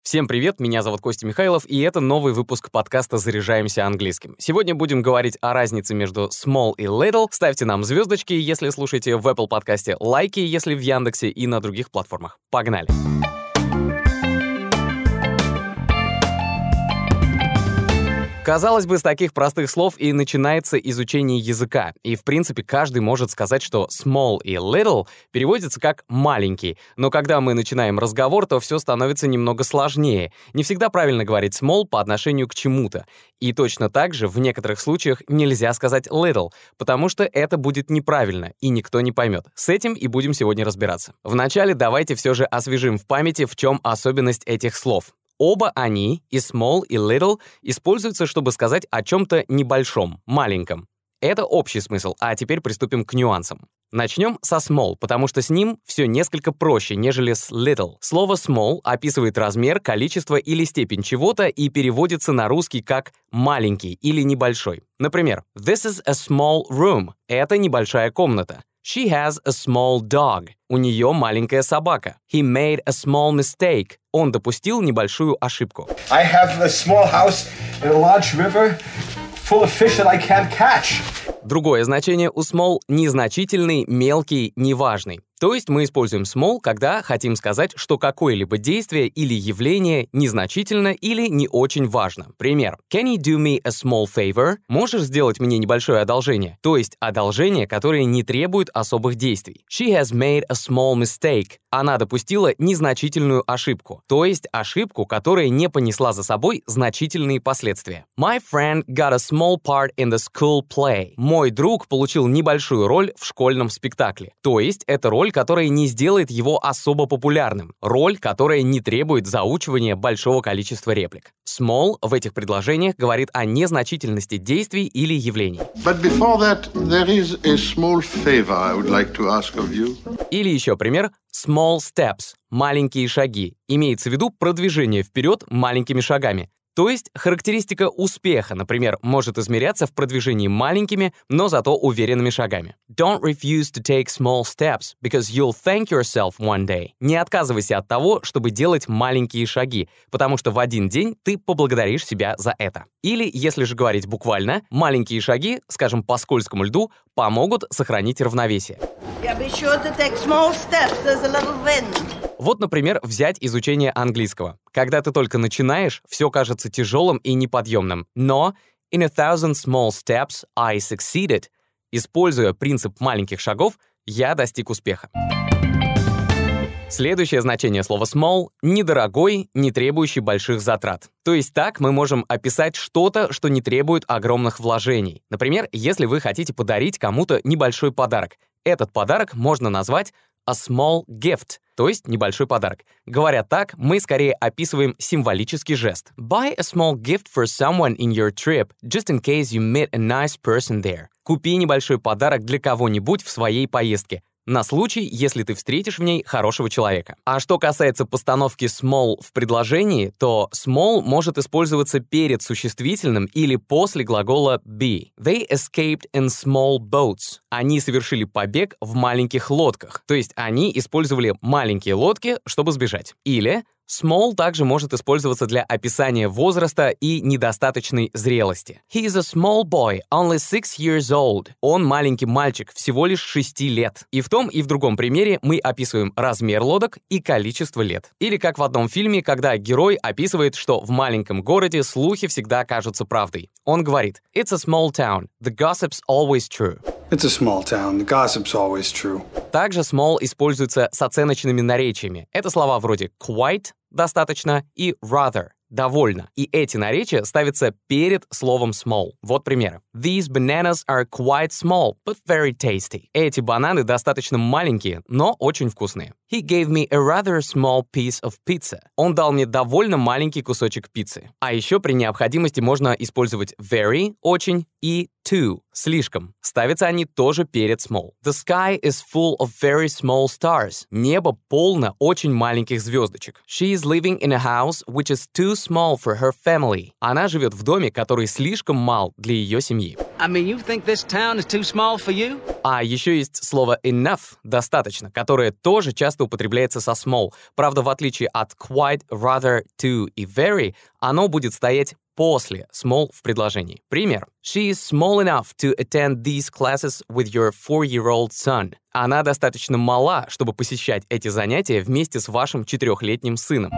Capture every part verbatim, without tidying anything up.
Всем привет, меня зовут Костя Михайлов, и это новый выпуск подкаста «Заряжаемся английским». Сегодня будем говорить о разнице между small и little. Ставьте нам звездочки, если слушаете в Apple подкасте, лайки, если в Яндексе и на других платформах. Погнали! Казалось бы, с таких простых слов и начинается изучение языка. И, в принципе, каждый может сказать, что small и little переводится как «маленький». Но когда мы начинаем разговор, то все становится немного сложнее. Не всегда правильно говорить small по отношению к чему-то. И точно так же в некоторых случаях нельзя сказать little, потому что это будет неправильно, и никто не поймет. С этим и будем сегодня разбираться. Вначале давайте все же освежим в памяти, в чем особенность этих слов. Оба они, и small, и little, используются, чтобы сказать о чем-то небольшом, маленьком. Это общий смысл, а теперь приступим к нюансам. Начнем со small, потому что с ним все несколько проще, нежели с little. Слово small описывает размер, количество или степень чего-то и переводится на русский как «маленький» или «небольшой». Например, «This is a small room» — это небольшая комната. She has a small dog. У нее маленькая собака. He made a small mistake. Он допустил небольшую ошибку. I have a small house in a large river full of fish that I can't catch. Другое значение у small — незначительный, мелкий, неважный. То есть мы используем small, когда хотим сказать, что какое-либо действие или явление незначительно или не очень важно. Пример. Can you do me a small favor? Можешь сделать мне небольшое одолжение? То есть одолжение, которое не требует особых действий. She has made a small mistake. Она допустила незначительную ошибку. То есть ошибку, которая не понесла за собой значительные последствия. My friend got a small part in the school play. Мой друг получил небольшую роль в школьном спектакле. То есть это роль, которая не сделает его особо популярным. Роль, которая не требует заучивания большого количества реплик. Small в этих предложениях говорит о незначительности действий или явлений. But before that, there is a small favor I would like to ask of you. Или еще пример. Small steps – маленькие шаги. Имеется в виду продвижение вперед маленькими шагами. То есть характеристика успеха, например, может измеряться в продвижении маленькими, но зато уверенными шагами. Don't refuse to take small steps, because you'll thank yourself one day. Не отказывайся от того, чтобы делать маленькие шаги, потому что в один день ты поблагодаришь себя за это. Или, если же говорить буквально, маленькие шаги, скажем, по скользкому льду, помогут сохранить равновесие. Yeah, be sure to take small steps. There's a little wind. Вот, например, взять изучение английского. Когда ты только начинаешь, все кажется тяжелым и неподъемным. Но in a thousand small steps I succeeded. Используя принцип маленьких шагов, я достиг успеха. Следующее значение слова small — недорогой, не требующий больших затрат. То есть так мы можем описать что-то, что не требует огромных вложений. Например, если вы хотите подарить кому-то небольшой подарок. Этот подарок можно назвать a small gift, то есть небольшой подарок. Говоря так, мы скорее описываем символический жест. Buy a small gift for someone in your trip, just in case you meet a nice person there. Купи небольшой подарок для кого-нибудь в своей поездке, на случай, если ты встретишь в ней хорошего человека. А что касается постановки small в предложении, то small может использоваться перед существительным или после глагола be. They escaped in small boats. Они совершили побег в маленьких лодках. То есть они использовали маленькие лодки, чтобы сбежать. Или small также может использоваться для описания возраста и недостаточной зрелости. He is a small boy, only six years old. Он маленький мальчик, всего лишь шести лет. И в том, и в другом примере мы описываем размер лодок и количество лет. Или как в одном фильме, когда герой описывает, что в маленьком городе слухи всегда кажутся правдой. Он говорит: It's a small town, the gossip's always true. It's a small town. The gossip's always true. Также small используется с оценочными наречиями. Это слова вроде quite — достаточно и rather — довольно. И эти наречия ставятся перед словом small. Вот примеры. These bananas are quite small, but very tasty. Эти бананы достаточно маленькие, но очень вкусные. He gave me a rather small piece of pizza. Он дал мне довольно маленький кусочек пиццы. А еще при необходимости можно использовать very — очень и too — слишком. Ставятся они тоже перед small. The sky is full of very small stars. Небо полно очень маленьких звездочек. She is living in a house which is too small for her family. Она живет в доме, который слишком мал для ее семьи. I mean, you think this town is too small for you? А еще есть слово enough, достаточно, которое тоже часто употребляется со small. Правда, в отличие от quite, rather, to и very, оно будет стоять после small в предложении. Пример. She is small enough to attend these classes with your four-year-old son. Она достаточно мала, чтобы посещать эти занятия вместе с вашим четырехлетним сыном.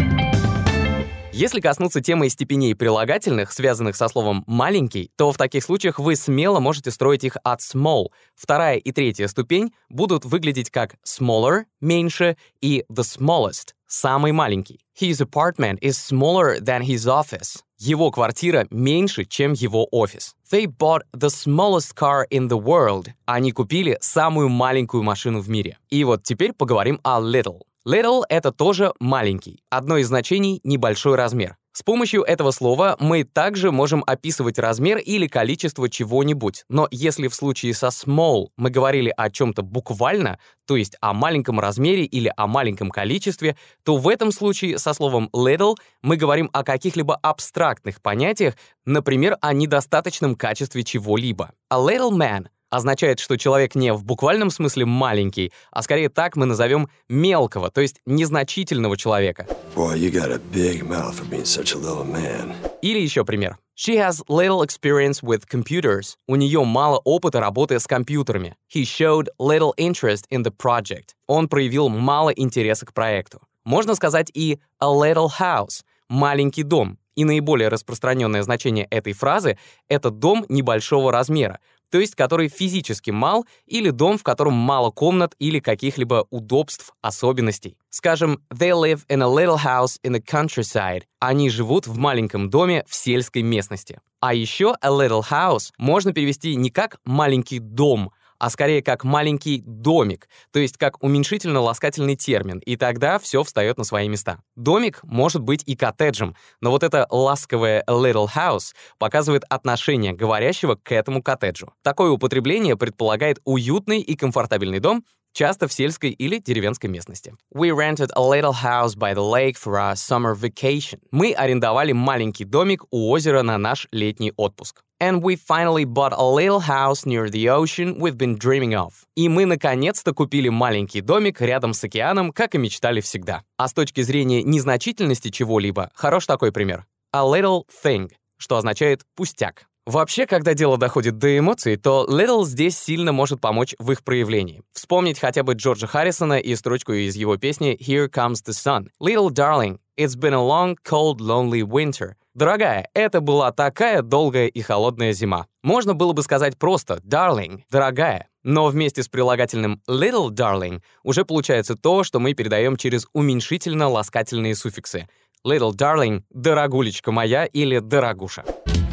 Если коснуться темы степеней прилагательных, связанных со словом «маленький», то в таких случаях вы смело можете строить их от small. Вторая и третья ступень будут выглядеть как smaller — меньше и the smallest — самый маленький. His apartment is smaller than his office. Его квартира меньше, чем его офис. They bought the smallest car in the world. Они купили самую маленькую машину в мире. И вот теперь поговорим о little. Little — это тоже маленький. Одно из значений — небольшой размер. С помощью этого слова мы также можем описывать размер или количество чего-нибудь. Но если в случае со small мы говорили о чем-то буквально, то есть о маленьком размере или о маленьком количестве, то в этом случае со словом little мы говорим о каких-либо абстрактных понятиях, например, о недостаточном качестве чего-либо. A little man означает, что человек не в буквальном смысле маленький, а скорее так мы назовем мелкого, то есть незначительного человека. Boy, you got a big mouth for being such a little man. Или еще пример. She has little experience with computers. У нее мало опыта работы с компьютерами. He showed little interest in the project. Он проявил мало интереса к проекту. Можно сказать и a little house — маленький дом. И наиболее распространенное значение этой фразы — это дом небольшого размера, то есть который физически мал, или дом, в котором мало комнат или каких-либо удобств, особенностей. Скажем, they live in a little house in the countryside. Они живут в маленьком доме в сельской местности. А еще a little house можно перевести не как «маленький дом», а скорее как «маленький домик», то есть как уменьшительно-ласкательный термин, и тогда все встает на свои места. Домик может быть и коттеджем, но вот это ласковое a little house показывает отношение говорящего к этому коттеджу. Такое употребление предполагает уютный и комфортабельный дом, часто в сельской или деревенской местности. We rented a little house by the lake for our summer vacation. Мы арендовали маленький домик у озера на наш летний отпуск. And we finally bought a little house near the ocean we've been dreaming of. И мы наконец-то купили маленький домик рядом с океаном, как и мечтали всегда. А с точки зрения незначительности чего-либо, хорош такой пример. A little thing, что означает «пустяк». Вообще, когда дело доходит до эмоций, то little здесь сильно может помочь в их проявлении. Вспомнить хотя бы Джорджа Харрисона и строчку из его песни «Here Comes the Sun». Little darling, it's been a long, cold, lonely winter. Дорогая, это была такая долгая и холодная зима. Можно было бы сказать просто «darling», «дорогая». Но вместе с прилагательным little darling уже получается то, что мы передаем через уменьшительно-ласкательные суффиксы. Little darling, дорогулечка моя или дорогуша.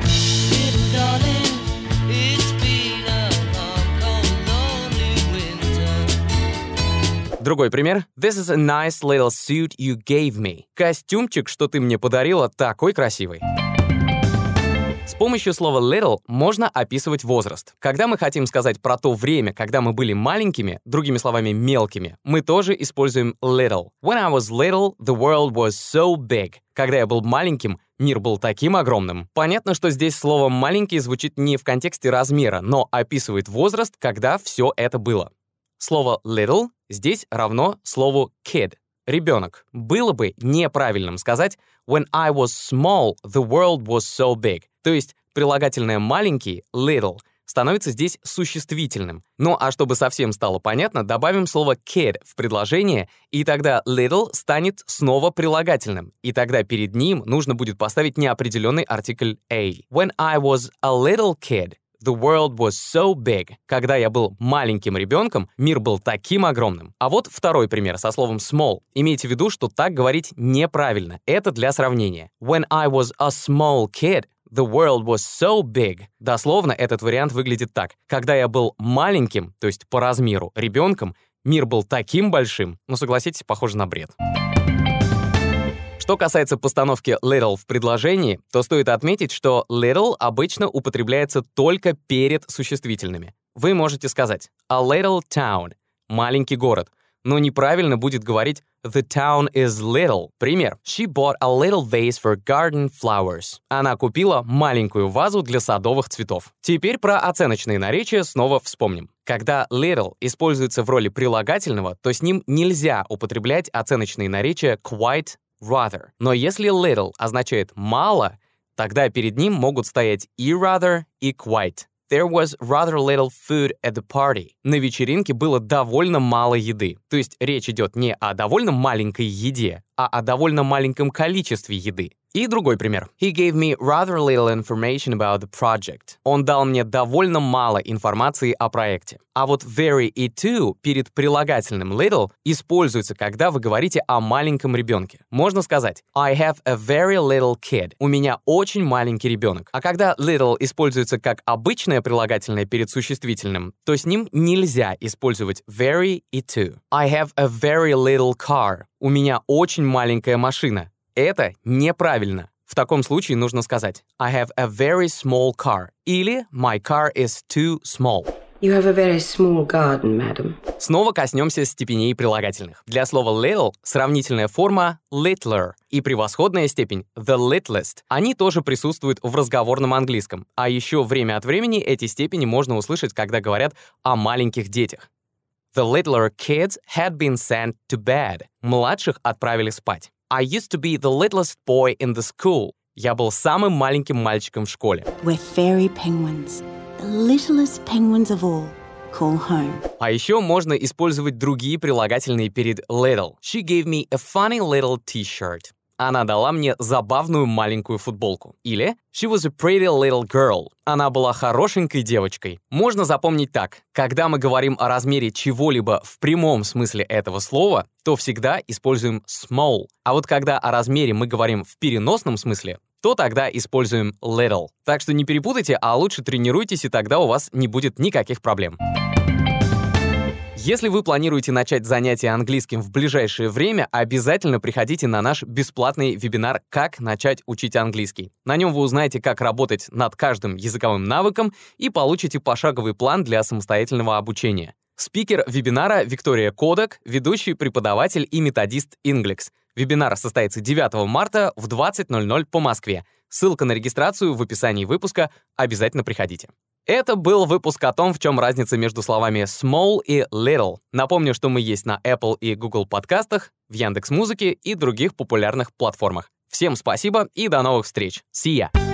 Другой пример. This is a nice little suit you gave me. Костюмчик, что ты мне подарила, такой красивый. С помощью слова little можно описывать возраст. Когда мы хотим сказать про то время, когда мы были маленькими, другими словами, мелкими, мы тоже используем little. When I was little, the world was so big. Когда я был маленьким, мир был таким огромным. Понятно, что здесь слово «маленький» звучит не в контексте размера, но описывает возраст, когда все это было. Слово little здесь равно слову kid — ребенок. Было бы неправильным сказать «When I was small, the world was so big». То есть прилагательное «маленький» — little становится здесь существительным. Ну а чтобы совсем стало понятно, добавим слово kid в предложение, и тогда little станет снова прилагательным. И тогда перед ним нужно будет поставить неопределенный артикль a. When I was a little kid, the world was so big. Когда я был маленьким ребенком, мир был таким огромным. А вот второй пример со словом small. Имейте в виду, что так говорить неправильно. Это для сравнения. When I was a small kid, the world was so big. Дословно этот вариант выглядит так. Когда я был маленьким, то есть по размеру, ребенком, мир был таким большим. Но согласитесь, похоже на бред. Что касается постановки little в предложении, то стоит отметить, что little обычно употребляется только перед существительными. Вы можете сказать a little town — маленький город. но неправильно будет говорить The town is little. Пример. She bought a little vase for garden flowers. Она купила маленькую вазу для садовых цветов. Теперь про оценочные наречия снова вспомним. Когда little используется в роли прилагательного, то с ним нельзя употреблять оценочные наречия quite, rather. Но если little означает «мало», тогда перед ним могут стоять и rather, и quite. There was rather little food at the party. На вечеринке было довольно мало еды. То есть речь идет не о довольно маленькой еде, а о довольно маленьком количестве еды. И другой пример. He gave me rather little information about the project. Он дал мне довольно мало информации о проекте. А вот very и to перед прилагательным little используется, когда вы говорите о маленьком ребенке. Можно сказать I have a very little kid. У меня очень маленький ребенок. А когда little используется как обычное прилагательное перед существительным, то с ним нельзя использовать very и to. I have a very little car. У меня очень маленькая машина. Это неправильно. В таком случае нужно сказать I have a very small car или My car is too small. You have a very small garden, madam. Снова коснемся степеней прилагательных. Для слова little сравнительная форма littler и превосходная степень the littlest. Они тоже присутствуют в разговорном английском. А еще время от времени эти степени можно услышать, когда говорят о маленьких детях. The littler kids had been sent to bed. Младших отправили спать. I used to be the littlest boy in the school. Я был самым маленьким мальчиком в школе. We're fairy penguins, the littlest penguins of all. Call home. А еще можно использовать другие прилагательные перед little. She gave me a funny little t-shirt. Она дала мне забавную маленькую футболку. Или She was a pretty little girl. Она была хорошенькой девочкой. Можно запомнить так. Когда мы говорим о размере чего-либо в прямом смысле этого слова, то всегда используем small. А вот когда о размере мы говорим в переносном смысле, то тогда используем little. Так что не перепутайте, а лучше тренируйтесь, и тогда у вас не будет никаких проблем. Если вы планируете начать занятия английским в ближайшее время, обязательно приходите на наш бесплатный вебинар «Как начать учить английский». На нем вы узнаете, как работать над каждым языковым навыком и получите пошаговый план для самостоятельного обучения. Спикер вебинара Виктория Кодак, ведущий преподаватель и методист Inglix. Вебинар состоится девятого марта в двадцать ноль ноль по Москве. Ссылка на регистрацию в описании выпуска. Обязательно приходите. Это был выпуск о том, в чем разница между словами small и little. Напомню, что мы есть на Apple и Google подкастах, в Яндекс.Музыке и других популярных платформах. Всем спасибо и до новых встреч. See ya!